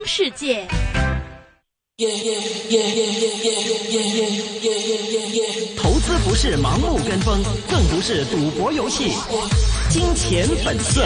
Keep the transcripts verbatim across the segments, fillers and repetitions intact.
世界。 投资不是盲目跟风，更不是赌博游戏。金钱本色。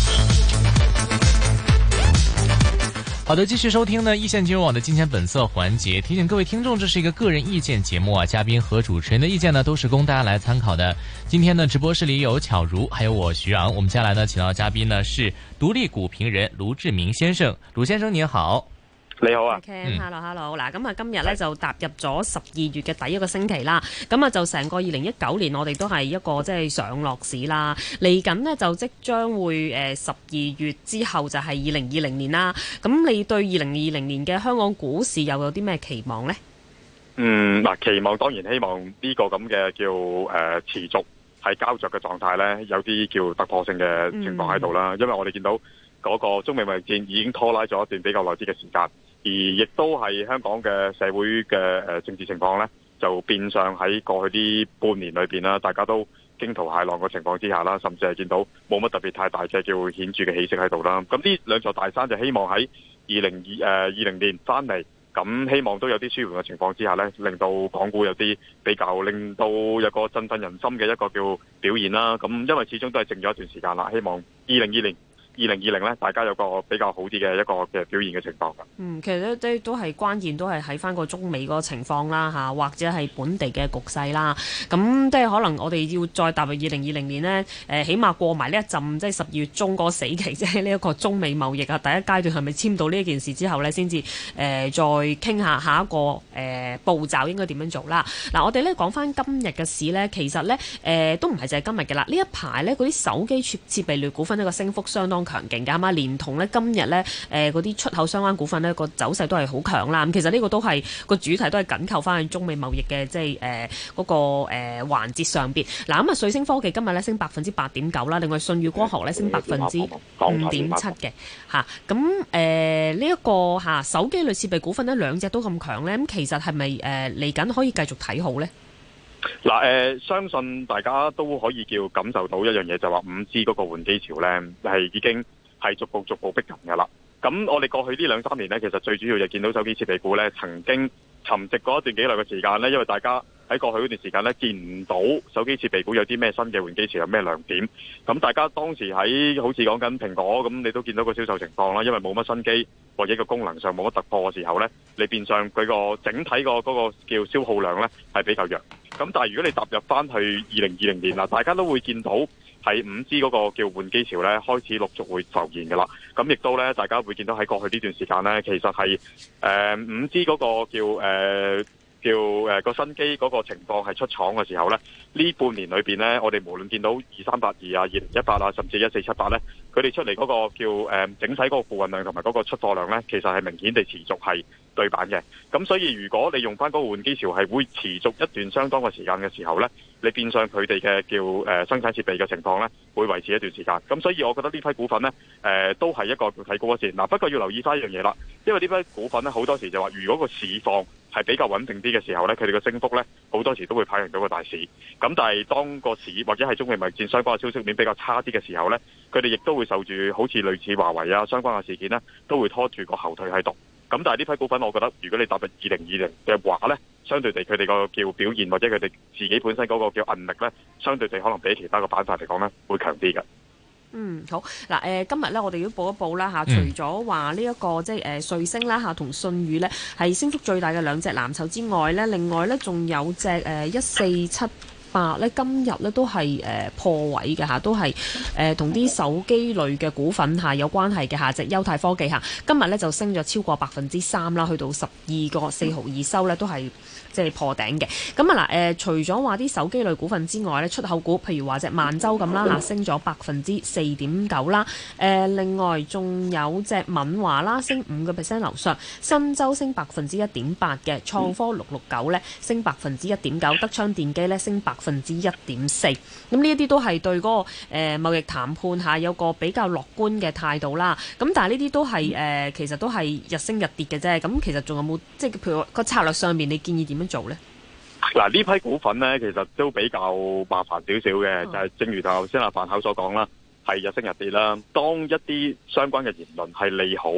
好的，继续收听呢一线金融网的金钱本色环节。提醒各位听众，这是一个个人意见节目啊，嘉宾和主持人的意见呢都是供大家来参考的。今天呢直播室里有巧如，还有我徐昂。我们接下来呢请到嘉宾呢是独立股评人卢志明先生。卢先生您好。 你好啊 ，Ken，hello hello，嗱，咁啊今日咧就踏入咗十二月嘅第一個星期啦，咁啊就成個二零一九年我哋都係一個即係上落市啦，嚟緊呢，就即將會誒十二月之後就係二零二零年啦，咁你對二零二零年嘅香港股市又有啲咩期望呢？ 嗯，嗱，期望當然希望呢個咁嘅叫誒、呃、持續係膠着嘅狀態咧，有啲叫突破性嘅情況喺度啦，嗯、因為我哋見到嗰個中美貿易戰已經拖拉咗一段比較耐啲嘅時間。而亦都係香港嘅社會嘅誒政治情況咧，就變相喺過去呢半年裏邊啦，大家都驚濤駭浪嘅情況之下啦，甚至係見到冇乜特別太大嘅叫顯著嘅起色喺度啦。咁呢兩座大山就希望喺二零二誒二零年翻嚟，咁希望都有啲舒緩嘅情況之下咧，令到港股有啲比較令到有個振奮人心嘅一個叫表現啦。咁因為始終都係靜咗一段時間啦，希望二零二零。二零二零咧，大家有個比較好啲嘅一個嘅表現嘅情況㗎。 嗯，其實咧都都係關鍵，都係喺翻個中美嗰個情況啦嚇，或者係本地嘅局勢啦。咁即係可能我哋要再踏入二零二零年呢，誒起碼過埋呢一陣，即係十二月中嗰個死期，即係呢一個中美貿易啊第一階段係咪簽到呢一件事之後呢，先至誒再傾下下一個誒、呃、步驟應該點樣做啦。嗱、啊，我哋咧講翻今日嘅市呢，其實呢，誒、呃、都唔係就係今日嘅啦。呢一排呢，嗰啲手機設設備類股份呢個升幅相當強勁㗎嘛，連同咧今日咧誒嗰啲出口相關股份咧個走勢都係好強啦。咁其實呢個都係個主題都係緊扣翻去中美貿易嘅即係誒嗰個誒、呃、環節上邊。嗱咁啊，瑞聲科技今日咧升百分之八點九啦，另外舜宇光學咧升百分之五點七嘅嚇。咁誒呢一個嚇、啊、手機類設備股份呢，兩隻都咁強咧，咁其實係咪誒嚟緊可以繼續睇好咧？ 嗱，誒、呃，相信大家都可以叫感受到一樣嘢，就話五 G 嗰個換機潮咧係已經係逐步逐步逼近㗎啦。咁我哋過去呢兩三年咧，其實最主要就見到手機設備股咧曾經沉寂過一段幾耐嘅時間咧，因為大家喺過去嗰段時間咧見唔到手機設備股有啲咩新嘅換機潮，有咩亮點。咁大家當時喺好似講緊蘋果咁，你都見到個銷售情況啦，因為冇乜新機或者個功能上冇乜突破嘅時候咧，你變相佢個整體個嗰個叫消耗量咧係比較弱。咁但係如果你踏入翻去二零二零年啦，大家都會見到係五 G 嗰個叫換機潮咧開始陸續會浮現㗎啦。咁亦都咧，大家會見到喺過去呢段時間咧，其實係誒五 G 嗰個叫誒。呃叫誒個新機嗰個情況係出廠嘅時候咧，呢半年裏邊咧，我哋無論見到二三八二啊、二零一八啊，甚至一四七八咧，佢哋出嚟嗰個叫誒、呃、整體嗰個付運量同埋嗰個出貨量咧，其實係明顯地持續係對版嘅。咁所以如果你用翻嗰個換機潮係會持續一段相當嘅時間嘅時候咧，你變相佢哋嘅叫誒、呃、生產設備嘅情況咧，會維持一段時間。咁所以我覺得呢批股份咧，誒、呃、都係一個睇高一線。嗱，不過要留意翻一樣嘢啦，因為呢批股份咧好多時就話，如果個市況係比較穩定啲嘅時候呢，佢哋嘅升幅呢好多時都會跑贏到個大市。咁但係當個市或者係中美貿易戰相關嘅消息面比較差啲嘅時候呢，佢哋亦都會受住好似類似華為啊相關嘅事件呢，都會拖住個後腿喺度。咁但係呢批股份，我覺得如果你踏入二零二零嘅話呢，相對地佢哋個叫表現或者佢哋自己本身嗰個叫韌力呢，相對地可能比其他嘅板塊嚟講呢會強啲嘅。 嗯，好嗱，誒、呃、今日咧，我哋要報一報啦嚇、啊，除咗話呢一個即係誒、呃、瑞聲啦嚇，同舜宇咧係升幅最大嘅兩隻藍籌之外咧，另外咧仲有隻誒一四七八咧，今日咧都係誒、呃、破位嘅嚇，都係誒同啲手機類嘅股份嚇有關係嘅嚇，隻優泰科技嚇，今日咧就升咗超過百分之三啦，去到十二個四毫二收咧，都係即係破頂嘅。咁啊嗱誒，除咗話啲手機類股份之外咧，出口股譬如話隻萬洲咁啦嚇，升咗百分之四點九啦。誒、呃，另外仲有隻敏華啦，升五個 percent 樓上，新洲升百分之一點八嘅，創科六六九咧升百分之一點九，德昌電機咧升百分之一點四。咁呢一啲都係對嗰、那個誒、呃、貿易談判下有個比較樂觀嘅態度啦。咁但係呢啲都係誒、呃，其實都係日升日跌嘅啫。咁其實仲有冇即係譬如個策略上面，你建議點樣做呢？ 嗱，呢批股份呢，其實都比較麻煩少少嘅，就係、是、正如頭先阿范口所講啦，係日升日跌啦。當一啲相關嘅言論係利好，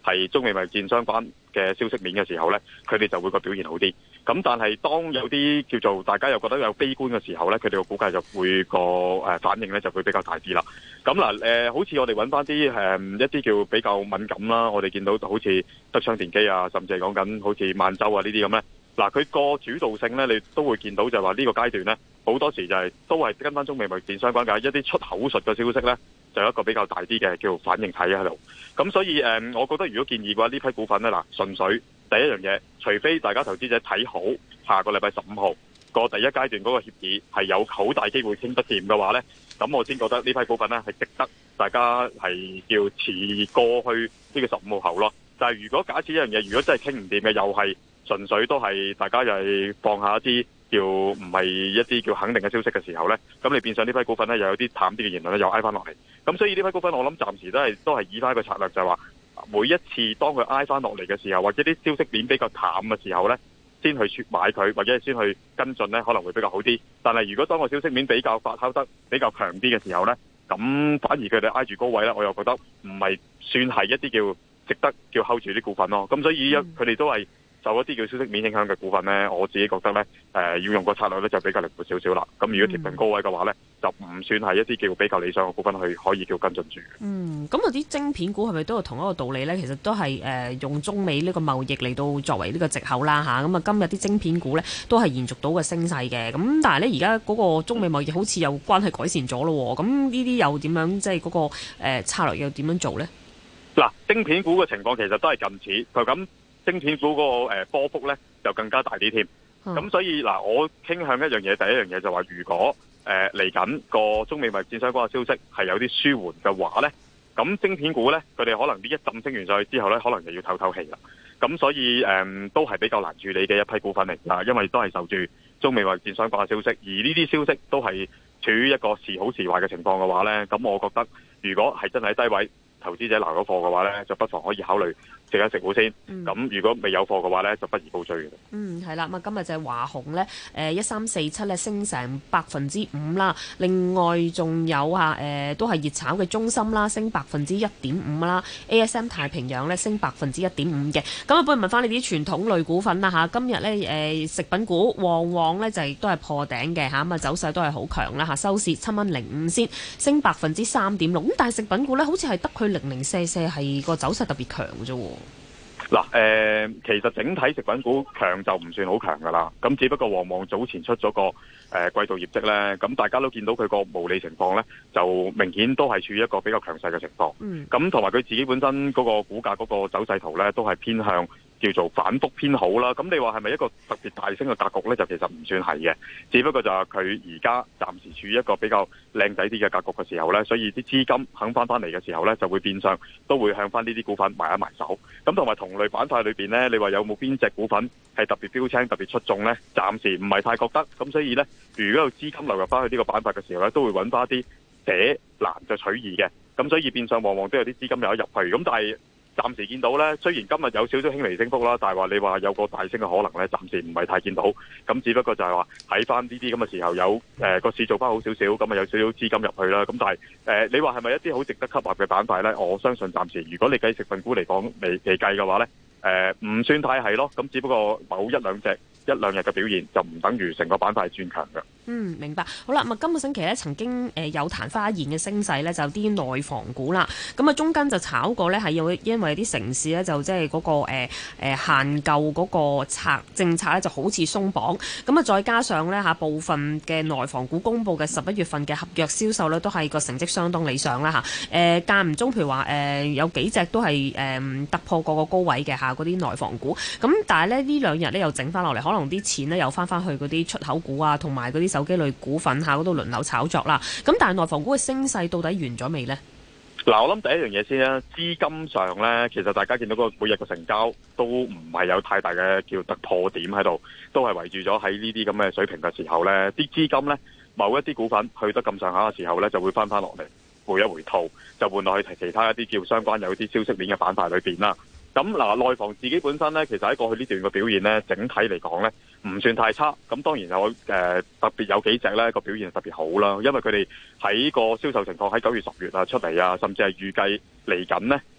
係中美貿易戰相關嘅消息面嘅時候呢，佢哋就會個表現好啲。咁但係當有啲叫做大家又覺得有悲觀嘅時候呢，佢哋個估計就會個誒反應呢就會比較大啲啦。咁嗱誒，好似我哋揾翻啲誒一啲叫比較敏感啦，我哋見到好似德昌電機啊，甚至係講緊好似萬洲啊呢啲咁呢。嗱，佢個主導性呢，你都會見到就係話呢個階段呢，好多時就係、是、都係跟翻中美貿易戰相關嘅一啲出口術嘅消息呢，就有一個比較大啲嘅叫反應體喺度。咁所以誒、嗯，我覺得如果建議嘅話，呢批股份呢，嗱，純粹第一樣嘢，除非大家投資者睇好下個禮拜十五號個第一階段嗰個協議係有好大機會傾得掂嘅話呢，咁我先覺得呢批股份呢係值得大家係叫遲過去呢個十五號後咯。但係如果假設一樣嘢，如果真係傾唔掂嘅，又係純粹都係大家又係放下一啲叫唔係一啲叫肯定嘅消息嘅時候呢，咁你變相呢批股份呢又有啲淡啲嘅言論呢又挨翻落嚟。咁所以呢批股份我諗暫時都係都係以翻一個策略，就係話每一次當佢挨翻落嚟嘅時候，或者啲消息面比較淡嘅時候呢，先去買佢或者先去跟進呢，可能會比較好啲。但係如果當個消息面比較發酵得比較強啲嘅時候呢，咁反而佢哋挨住高位呢，我又覺得唔係算係一啲叫值得叫 hold 住啲股份咯。咁所以佢哋都係受一啲叫消息面影響嘅股份呢，我自己覺得呢，誒、呃、要用個策略呢就比較靈活少少啦。咁如果貼近高位嘅話呢，就唔算係一啲叫比較理想嘅股份去可以叫跟進住。 嗯，咁嗰啲晶片股係咪都有同一個道理呢？其實都係誒、呃、用中美呢個貿易嚟到作為呢個藉口啦嚇。咁啊，今日啲晶片股呢都係延續到個升勢嘅。咁但係呢，而家嗰個中美貿易好似又關係改善咗咯。咁呢啲又點樣即係嗰個、呃、策略又點樣做呢？ 嗱，晶片股嘅情況其實都係近似，就咁晶片股嗰個誒波幅咧就更加大啲添。咁、嗯、所以嗱，我傾向一樣嘢，第一樣嘢就話，如果誒嚟緊個中美貿易戰相關嘅消息係有啲舒緩嘅話咧，咁晶片股咧佢哋可能呢一陣升完上去之後咧，可能就要透透氣啦。咁所以誒、嗯、都係比較難處理嘅一批股份嚟㗎，因為都係受住中美貿易戰相關嘅消息，而呢啲消息都係處於一個時好時壞嘅情況嘅話咧，咁我覺得如果係真係喺低位，投資者留咗貨嘅話呢，就不妨可以考慮食一食股先。咁、嗯、如果未有貨嘅話呢，就不宜高追嘅。 嗯，係啦。咁啊，今日就係華虹呢，誒一三四七咧升成百分之五啦。另外仲有啊，誒、呃、都係熱炒嘅中芯啦，升百分之一點五啦。A S M 太平洋呢，升百分之一點五嘅。咁啊，不如問翻你啲傳統類股份啦嚇。今日呢，誒、呃、食品股旺旺呢，就係都係破頂嘅嚇，咁啊走勢都係好強啦嚇，收市七蚊零五先，升百分之三點六。咁但係食品股呢，好似係得佢零零舍舍係個走勢特別強啫喎。 嗱，誒，其實整體食品股強就唔算好強噶啦，咁只不過旺旺早前出咗個誒、呃、季度業績咧，咁大家都見到佢個毛利情況咧，就明顯都係處於一個比較強勢嘅情況。嗯。咁同埋佢自己本身嗰個股價嗰個走勢圖咧，都係偏向叫做反覆偏好啦。咁你話係咪一個特別大升嘅格局咧？就其實唔算係嘅，只不過就係佢而家暫時處於一個比較靚仔啲嘅格局嘅時候咧，所以啲資金肯翻翻嚟嘅時候咧，就會變相都會向翻呢啲股份埋一埋手。咁同埋同類板塊裏邊咧，你話有冇邊隻股份係特別標青、特別出眾咧？暫時唔係太覺得。咁所以咧，如果有資金流入翻去呢個板塊嘅時候咧，都會揾翻啲捨難就取易嘅。咁所以變相往往都有啲資金有得入去。咁但係暫時見到咧，雖然今日有少少輕微升幅啦，但係話你話有個大升嘅可能咧，暫時唔係太見到。咁只不過就係話喺翻呢啲咁嘅時候有誒個、呃、市做翻好少少，咁啊有少少資金入去啦。咁但係誒、呃、你話係咪一啲好值得吸納嘅板塊咧？我相信暫時如果你計食品股嚟講未未計嘅話咧，誒、呃、唔算太係咯。咁只不過某一兩隻一兩日嘅表現就唔等於成個板塊轉強嘅。 嗯，明白。好啦，咁啊，今個星期咧曾經誒有曇花現嘅升勢咧，就有啲內房股啦。咁啊，中間就炒過咧，係有因為啲城市咧就即係嗰個誒、呃呃、限購嗰個策政策咧就好似鬆綁。咁啊，再加上咧嚇部分嘅內房股公布嘅十一月份嘅合約銷售咧，都係個成績相當理想啦嚇。誒間唔中，譬如話誒、呃、有幾隻都係誒、呃、突破過個高位嘅嚇嗰啲內房股。咁但係咧呢兩日咧又整翻落嚟，可能啲錢咧又翻翻去嗰啲出口股啊，同埋嗰啲手機類股份下嗰度輪流炒作啦，咁但係內房股嘅升勢到底完咗未呢？ 嗱，我諗第一樣嘢先啦，資金上呢，其實大家見到個每日嘅成交都唔係有太大嘅叫突破點喺度，都係圍住咗喺呢啲咁嘅水平嘅時候呢，啲資金呢，某一啲股份去得咁上下嘅時候呢，就會翻翻落嚟，回一回吐，就換落去其他一啲叫相關有啲消息面嘅板塊裏邊啦。咁嗱，內房自己本身咧，其實喺過去呢段嘅表現咧，整體嚟講咧，唔算太差。咁當然有誒、呃、特別有幾隻咧個表現特別好啦，因為佢哋喺個銷售情況喺九月、十月啊出嚟啊，甚至係預計嚟緊呢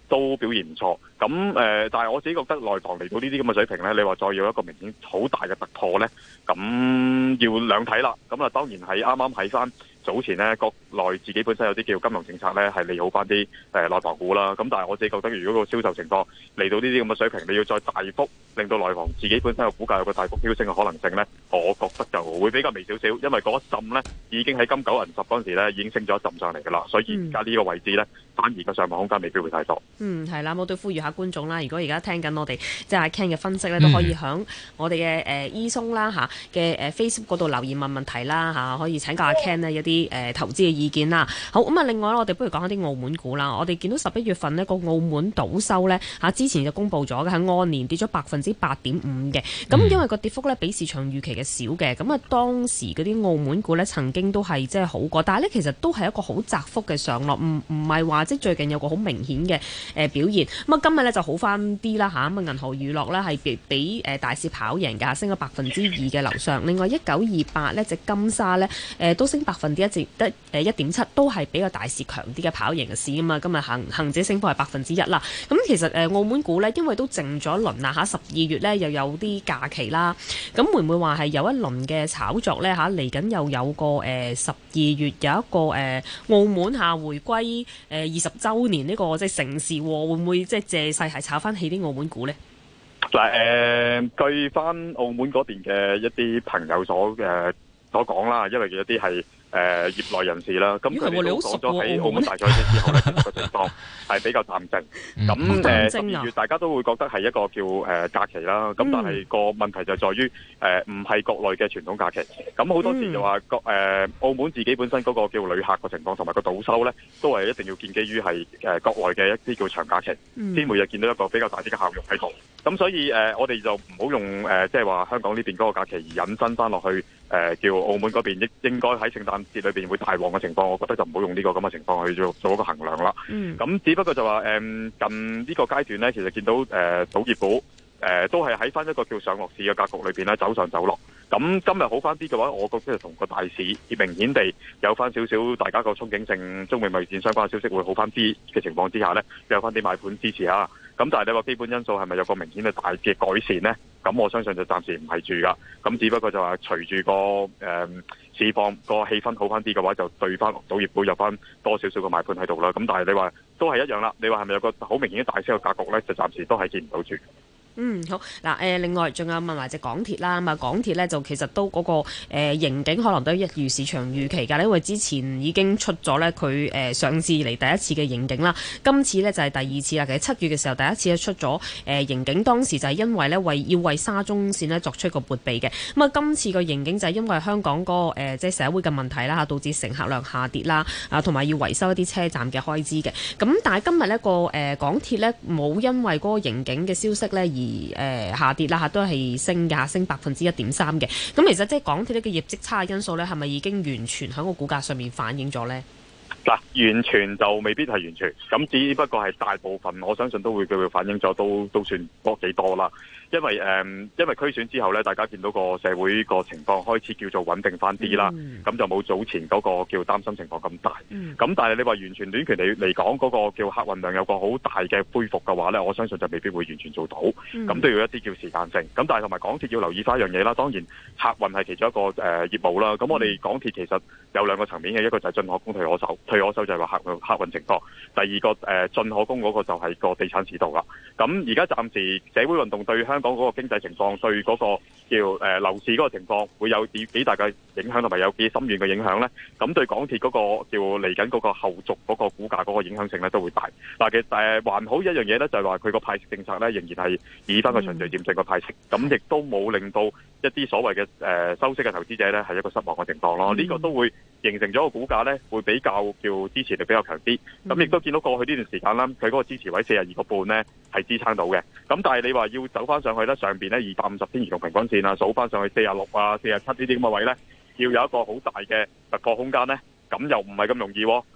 都表現唔錯。咁誒、呃，但係我自己覺得內房嚟到呢啲咁嘅水平咧，你話再要一個明顯好大嘅突破咧，咁要兩睇啦。咁啊，當然係啱啱喺翻早前咧，國內自己本身有啲叫金融政策咧，係利好翻啲誒內房股啦。咁但係我自己覺得，如果個銷售情況嚟到呢啲咁嘅水平，你要再大幅令到內房自己本身嘅股價有個大幅飆升嘅可能性咧，我覺得就會比較微少少，因為嗰一陣咧已經喺金九銀十嗰陣時咧已經升咗一陣上嚟㗎啦，所以而家呢個位置咧，反而個上望空間未必會太多。 嗯，係啦，我都呼籲下觀眾啦。如果而家聽緊我哋即係阿 Ken 嘅分析咧，都可以響我哋嘅誒 E 松啦嚇嘅誒 Facebook 嗰度留言問問題啦嚇，可以請教阿 Ken 呢一啲誒投資嘅意見啦。好咁啊，另外我哋不如講下啲澳門股啦。我哋見到十一月份呢個澳門賭收咧嚇，之前就公布咗嘅係按年跌咗百分之八點五嘅。咁因為個跌幅咧比市場預期嘅少嘅，咁啊當時嗰啲澳門股咧曾經都係即係好過，但係咧其實都係一個好窄幅嘅上落，唔唔係話即係最近有個好明顯嘅誒表現。咁啊今日咧就好翻啲啦嚇，咁啊銀河娛樂咧係比比誒大市跑贏㗎，升咗百分之二嘅樓上。另外一九二八呢隻金沙咧誒都升百分之一至得誒一點七，都係比較大市強啲嘅跑贏嘅市啊嘛。今日恒恆指升幅係百分之一啦。咁其實誒澳門股咧，因為都靜咗一輪啦嚇，十二月咧又有啲假期啦，咁會唔會話係有一輪嘅炒作咧嚇？嚟緊又有個誒十二月有一個誒、呃、澳門下回歸誒二十週年呢個即係盛事，會唔會即係借勢係炒翻起啲澳門股咧？ 嗱、呃、誒，據翻澳門嗰邊嘅一啲朋友所誒、呃、所講啦，因為有啲係誒業內人士啦，咁佢哋都講咗喺澳門大賽之後咧，個情況係比較淡靜。咁誒十二月大家都會覺得係一個叫誒、呃、假期啦。咁但係個問題就在於誒唔係國內嘅傳統假期。咁好多時就話國誒澳門自己本身嗰個叫旅客個情況同埋個賭收咧，都係一定要建基於係誒國內嘅一啲叫長假期，先每日見到一個比較大啲嘅效用喺度。咁所以誒、呃、我哋就唔好用誒即係話香港呢邊嗰個假期而引申翻落去誒、呃、叫澳門嗰邊應應該喺聖誕節裏邊會大旺嘅情況，我覺得就唔好用呢個咁嘅情況去做做一個衡量啦。咁、嗯、只不過就話誒、呃、近呢個階段咧，其實見到誒賭業股誒、呃、都係喺翻一個叫上落市嘅格局裏邊咧走上走落。咁今日好翻啲嘅話，我覺得同個大市明顯地有翻少少大家個憧憬性中美貿易戰相關嘅消息會好翻啲嘅情況之下咧，有翻啲買盤支持下。咁但係你話基本因素係咪有個明顯嘅大嘅改善呢？咁我相信就暫時唔係住噶。咁只不過就話隨住個誒、呃、市況個氣氛好翻啲嘅話，就對翻賭業股有翻多少少嘅買盤喺度啦。咁但係你話都係一樣啦。你話係咪有個好明顯嘅大升嘅格局呢？就暫時都係見唔到住。 嗯，好嗱，誒、呃，另外仲有問埋隻港鐵啦，咁啊，港鐵咧就其實都嗰、那個誒、呃、盈警可能都一如市場預期㗎，因為之前已經出咗咧佢誒上市嚟第一次嘅盈警啦，今次咧就係、是、第二次啦。其實七月嘅時候第一次咧出咗誒盈警，當時就係因為咧為要為沙中線咧作出一個撥備嘅，咁啊今次個盈警就係因為香港嗰、那個、呃、即係社會嘅問題啦嚇，導致乘客量下跌啦，啊同埋要維修一啲車站嘅開支嘅，咁但係今日呢個誒、呃、港鐵咧冇因為嗰個盈警嘅消息咧而誒、呃、下跌啦嚇，都係升嘅，升百分之一點三嘅。咁其實即係港鐵呢個業績差嘅因素咧，係咪已經完全喺個股價上面反映咗咧？ 嗱，完全就未必係完全，咁只不過係大部分，我相信都會佢會反映咗，都都算多幾多啦。因為誒、嗯，因為區選之後咧，大家見到個社會個情況開始叫做穩定翻啲啦，咁、嗯、就冇早前嗰個叫擔心情況咁大。咁、嗯、但係你話完全短期嚟嚟講，嗰、那個叫客運量有個好大嘅恢復嘅話咧，我相信就未必會完全做到。咁、嗯、都要一啲叫時間性。咁但係同埋港鐵要留意翻一樣嘢啦，當然客運係其中一個誒、呃、業務啦。咁我哋港鐵其實有兩個層面嘅，一個就係進可攻退可守，退可守就係話客客運情況。第二個誒、呃、進可攻嗰個就係個地產市道啦。咁而家暫時社會運動對香港嗰個經濟情況，對嗰個叫誒樓市嗰個情況會有幾幾大嘅影響，同埋有幾深遠嘅影響咧？咁對港鐵嗰個叫嚟緊嗰個後續嗰個股價嗰個影響性咧都會大。嗱，其實誒還好一樣嘢咧，就係話佢個派息政策咧仍然係以翻個循序漸進嘅派息，咁亦都冇令到一啲所謂嘅誒收息嘅投資者咧係一個失望嘅情況咯。呢、嗯、個都會形成咗個股價咧會比較叫支持力比較強啲。咁亦都見到過去呢段時間啦，佢嗰個支持位四十二個半咧係支撐到嘅。咁但係你話要走翻上去咧，上邊咧二百五十天移動平均線啊，數翻上去四十六啊、四十七呢啲咁嘅位咧，要有一個好大嘅突破空間咧，咁又唔係咁容易喎。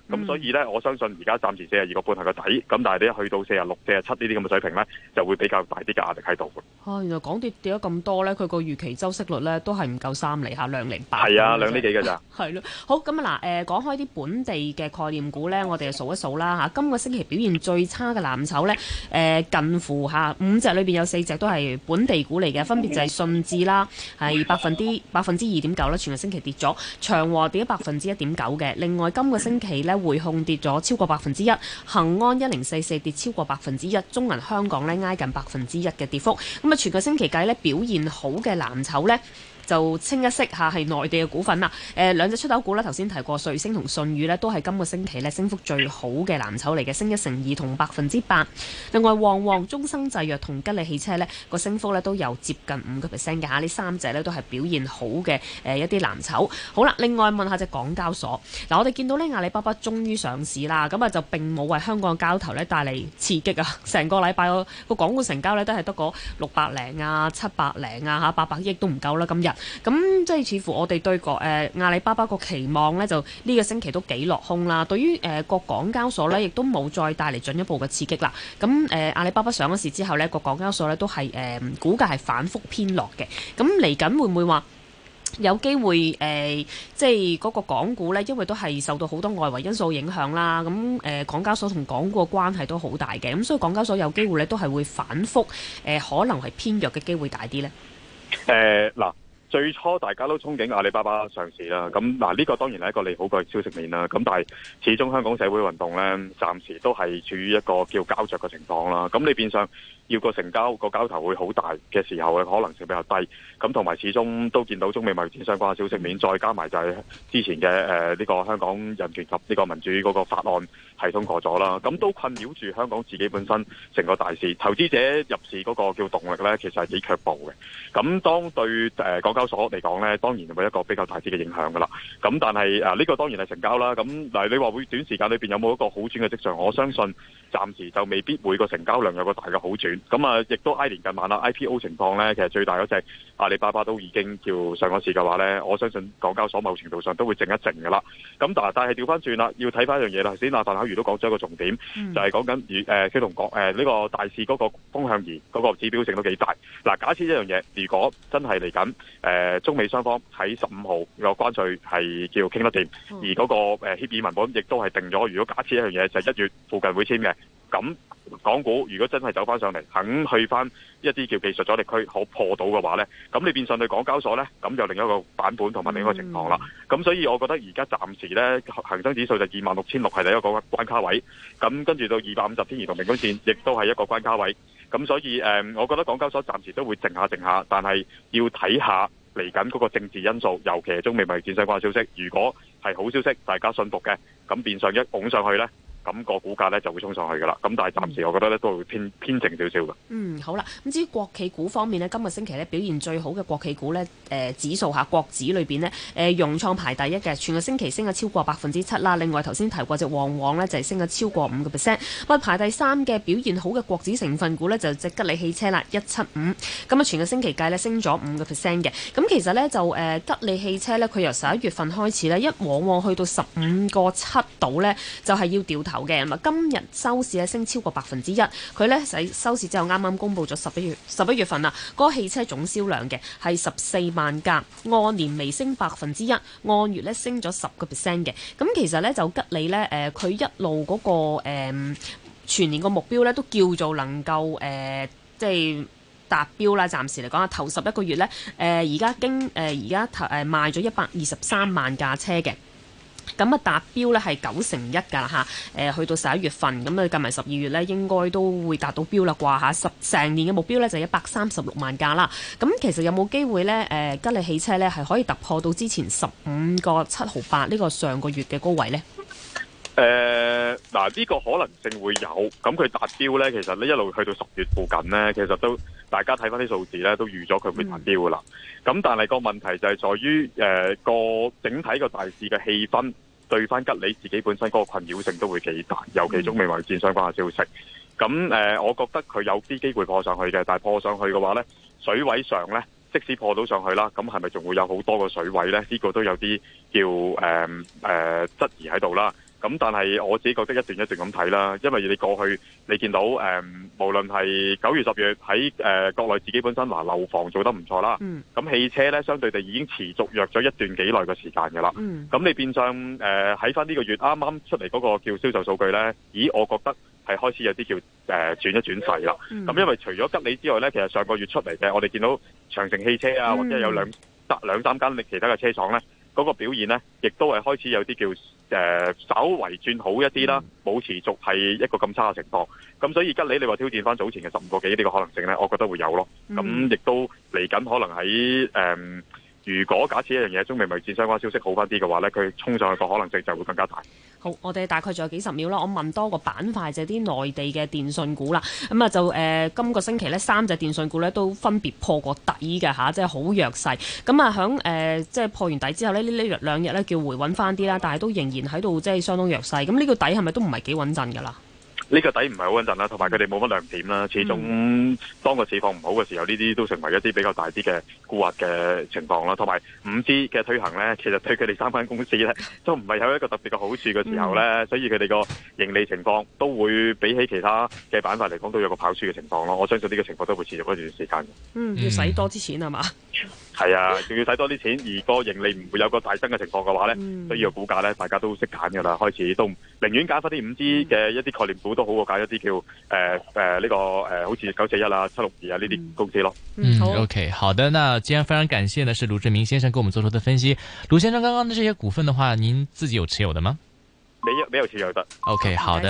咁、嗯、所以咧，我相信而家暫時四十二個半係個底，咁但係你一去到四十六、四十七呢啲咁嘅水平咧，就會比較大啲嘅壓力喺度。 哦，原來港跌跌咗咁多咧，佢個預期周息率咧都係唔夠三厘下，兩厘八。 係啊，兩厘幾嘅咋？ 係咯。好，咁啊嗱，誒講開啲本地嘅概念股咧，我哋就數一數啦嚇。今個星期表現最差嘅藍籌咧，誒、呃、近乎嚇五隻裏邊有四隻都係本地股嚟嘅，分別就係信置啦，係百分之百分之二點九啦，全個星期跌咗；長和跌咗百分之一點九嘅。另外今個星期咧，匯控跌咗超過百分之一，恒安一零四四跌超過百分之一，中銀香港咧挨近百分之一嘅跌幅。咁啊，全個星期計咧表現好嘅藍籌咧，就清一色下係內地嘅股份啦。誒、呃、兩隻出口股咧，頭先提過瑞星同信宇咧，都係今個星期咧升幅最好嘅藍籌嚟嘅，升一成二同百分之八。另外旺旺、中生製藥同吉利汽車咧個升幅咧都有接近五個 percent 嘅嚇，呢三隻咧都係表現好嘅誒、呃、一啲藍籌。好啦，另外問下隻港交所嗱，我哋見到咧阿里巴巴終於上市啦，咁啊就並冇為香港嘅交投咧帶嚟刺激啊，成個禮拜個個港股成交咧都係得個六百零啊、七百零啊嚇，八百億都唔夠啦今日。咁即係似乎我哋對個誒、呃、阿里巴巴個期望呢，就呢個星期都幾落空啦。對於誒個港交所呢，亦都冇再帶嚟進一步嘅刺激啦。咁誒、呃、阿里巴巴上咗市之後呢，個港交所呢都係誒、呃、股價係反覆偏落嘅。咁嚟緊會唔會話有機會誒、呃，即係嗰個港股呢，因為都係受到好多外圍因素影響啦。咁誒、呃、港交所同港股嘅關係都好大嘅。咁所以港交所有機會呢，都係會反覆誒、呃，可能係偏弱嘅機會大啲呢。 誒嗱、呃。最初大家都憧憬阿里巴巴上市啦，咁嗱呢個當然係一個利好嘅消息面啦。咁但係始終香港社會運動呢，暫時都係處於一個叫膠着嘅情況啦。咁你變相要個成交個交投會好大嘅時候咧，可能性比較低。咁同埋始終都見到中美貿易戰相關嘅消息面，再加埋就係之前嘅誒呢個香港人權及呢個民主嗰個法案係通過咗啦。咁都困擾住香港自己本身成個大市，投資者入市嗰個叫動力呢，其實係幾卻步嘅。咁當對誒港交所嚟講呢，當然會一個比較大啲嘅影響噶啦。咁但係誒呢個當然係成交啦。咁嗱，你話會短時間裏邊有冇一個好轉嘅跡象？我相信暫時就未必會個成交量有個大嘅好轉。咁啊，亦都挨年近晚啦 I P O 情況呢，其實最大嗰隻阿里巴巴都已經叫上咗市嘅話呢，我相信港交所某程度上都會靜一靜噶啦。咁但係但係調翻轉啦，要睇翻一樣嘢啦。頭先阿范巧如都講咗一個重點，嗯、就係講緊誒佢同講誒呢個大市嗰個風向儀嗰個指標性都幾大。嗱，假設一樣嘢，如果真係嚟緊誒中美雙方喺十五號個關稅係叫傾得掂，嗯、而嗰個誒協議文本亦都係定咗。如果假設一樣嘢就係一月附近會簽嘅，咁港股如果真係走翻上嚟，肯去翻一啲叫技術阻力區可破到嘅話呢，咁你變相對港交所呢，咁就另一個版本同埋另一個情況啦。咁、嗯、所以我覺得而家暫時呢，恒生指數就二萬六千六係第一個關卡位，咁跟住到二百五十天移動平均線亦都係一個關卡位。咁所以誒、呃，我覺得港交所暫時都會靜下靜下，但係要睇下嚟緊嗰個政治因素，尤其係中美貿易戰相關嘅消息。如果係好消息，大家信服嘅，咁變相一拱上去呢，咁個股價咧就會衝上去噶啦，咁但係暫時我覺得咧都會偏偏靜少少嘅。嗯， 好啦，咁至於國企股方面呢，今個星期咧表現最好嘅國企股呢，誒、呃、指數下國指裏邊呢，誒、呃、融創排第一嘅，全個星期升咗超過百分之七啦。另外頭先提過隻旺旺呢，就係、是、升咗超過五個 percent。咁排第三嘅表現好嘅國指成分股呢，就隻吉利汽車啦，一七五。咁啊，全個星期計呢，升咗五個 percent 嘅。咁其實呢，就誒、呃、吉利汽車呢，佢由十一月份開始呢，一往往去到十五個七度呢，就係、是、要掉頭嘅。咁啊，今日收市咧升超過百分之一，佢咧喺收市之後啱啱公布咗十一月十一月份啊，嗰、那個汽車總銷量嘅係十四萬架，按年微升百分之一，按月咧升咗十個 percent 嘅。咁其實咧就吉利咧誒，佢、呃、一路嗰、那個誒、呃、全年個目標咧都叫做能夠誒、呃、即係達標啦。暫時嚟講啊，頭十一個月咧誒而家經誒而家頭誒賣咗一百二十三萬架車嘅。咁啊達標咧係九成一㗎啦嚇，誒去到十一月份，咁啊計埋十二月咧應該都會達到標啦啩嚇，十成年嘅目標咧就一百三十六萬架啦。咁其實有冇機會咧誒吉利汽車咧係可以突破到之前十五個七毫八呢個上個月嘅高位咧？ 誒嗱呢個可能性會有，咁佢達標咧，其實呢一路去到十月附近咧，其實都大家睇翻啲數字咧，都預咗佢會達標㗎啦。咁、嗯、但係個問題就係在於誒個整體個大市嘅氣氛對翻吉利自己本身嗰個困擾性都會幾大，尤其中美貿易戰相關嘅消息。咁誒、呃，我覺得佢有啲機會破上去嘅，但係破上去嘅話咧，水位上咧，即使破到上去啦，咁係咪仲會有好多個水位咧？呢、這個都有啲叫誒誒質疑喺度啦。 咁但係我自己覺得一段一段咁睇啦，因為你過去你見到誒、呃，無論係九月、十月喺誒、呃、國內自己本身話樓房做得唔錯啦，咁、嗯、汽車咧相對地已經持續弱咗一段幾耐嘅時間㗎啦。咁、嗯、你變相誒喺翻呢個月啱啱出嚟嗰個叫銷售數據咧，咦，我覺得係開始有啲叫誒、呃、轉一轉勢啦。咁、嗯、因為除咗吉利之外咧，其實上個月出嚟嘅，我哋見到長城汽車啊，或者有兩兩三間其他嘅車廠咧，嗰、那個表現咧，亦都係開始有啲叫誒、呃、稍為轉好一啲啦，冇、嗯、持續係一個咁差嘅情況。咁所以吉利你話挑戰翻早前嘅十五個幾呢個可能性咧，我覺得會有咯。咁、嗯、亦都嚟緊可能喺誒、呃，如果假設一樣嘢中美貿易戰相關消息好翻啲嘅話咧，佢衝上去個可能性就會更加大。 好，我哋大概仲有幾十秒啦，我問多個板塊就係啲內地嘅電訊股啦。咁啊就誒、呃，今個星期呢，三隻電訊股呢都分別破過底嘅嚇，即係好弱勢。咁啊響誒即係破完底之後呢，呢呢兩日呢叫回穩翻啲啦，但係都仍然喺度即係相當弱勢。咁呢個底係咪都唔係幾穩陣㗎啦？ 呢、這個底唔係好穩陣啦，同埋佢哋冇乜亮點啦。始終、嗯、當個市況唔好嘅時候，呢啲都成為一啲比較大啲嘅沽壓嘅情況啦。同埋五 G 嘅推行呢，其實對佢哋三間公司呢都唔係有一個特別嘅好處嘅時候呢、嗯，所以佢哋個盈利情況都會比起其他嘅板塊嚟講都有個跑輸嘅情況咯。我相信呢個情況都會持續一段時間。 嗯，要使多啲錢係嘛？ 係啊，仲要使多啲錢，而個盈利唔會有個大增嘅情況嘅話呢、嗯，所以個股價呢，大家都識揀㗎啦。開始都寧願揀翻啲五 G 嘅一啲概念股都好過揀一啲叫誒誒呢個誒、呃、好似九四一啊、七六二啊呢啲公司咯。 嗯，好 OK， 好的。那既然非常感謝呢，是盧志明先生給我們做出的分析。盧先生，剛剛的這些股份的話，您自己有持有的嗎？ 沒有，沒有持有的。 OK，好的。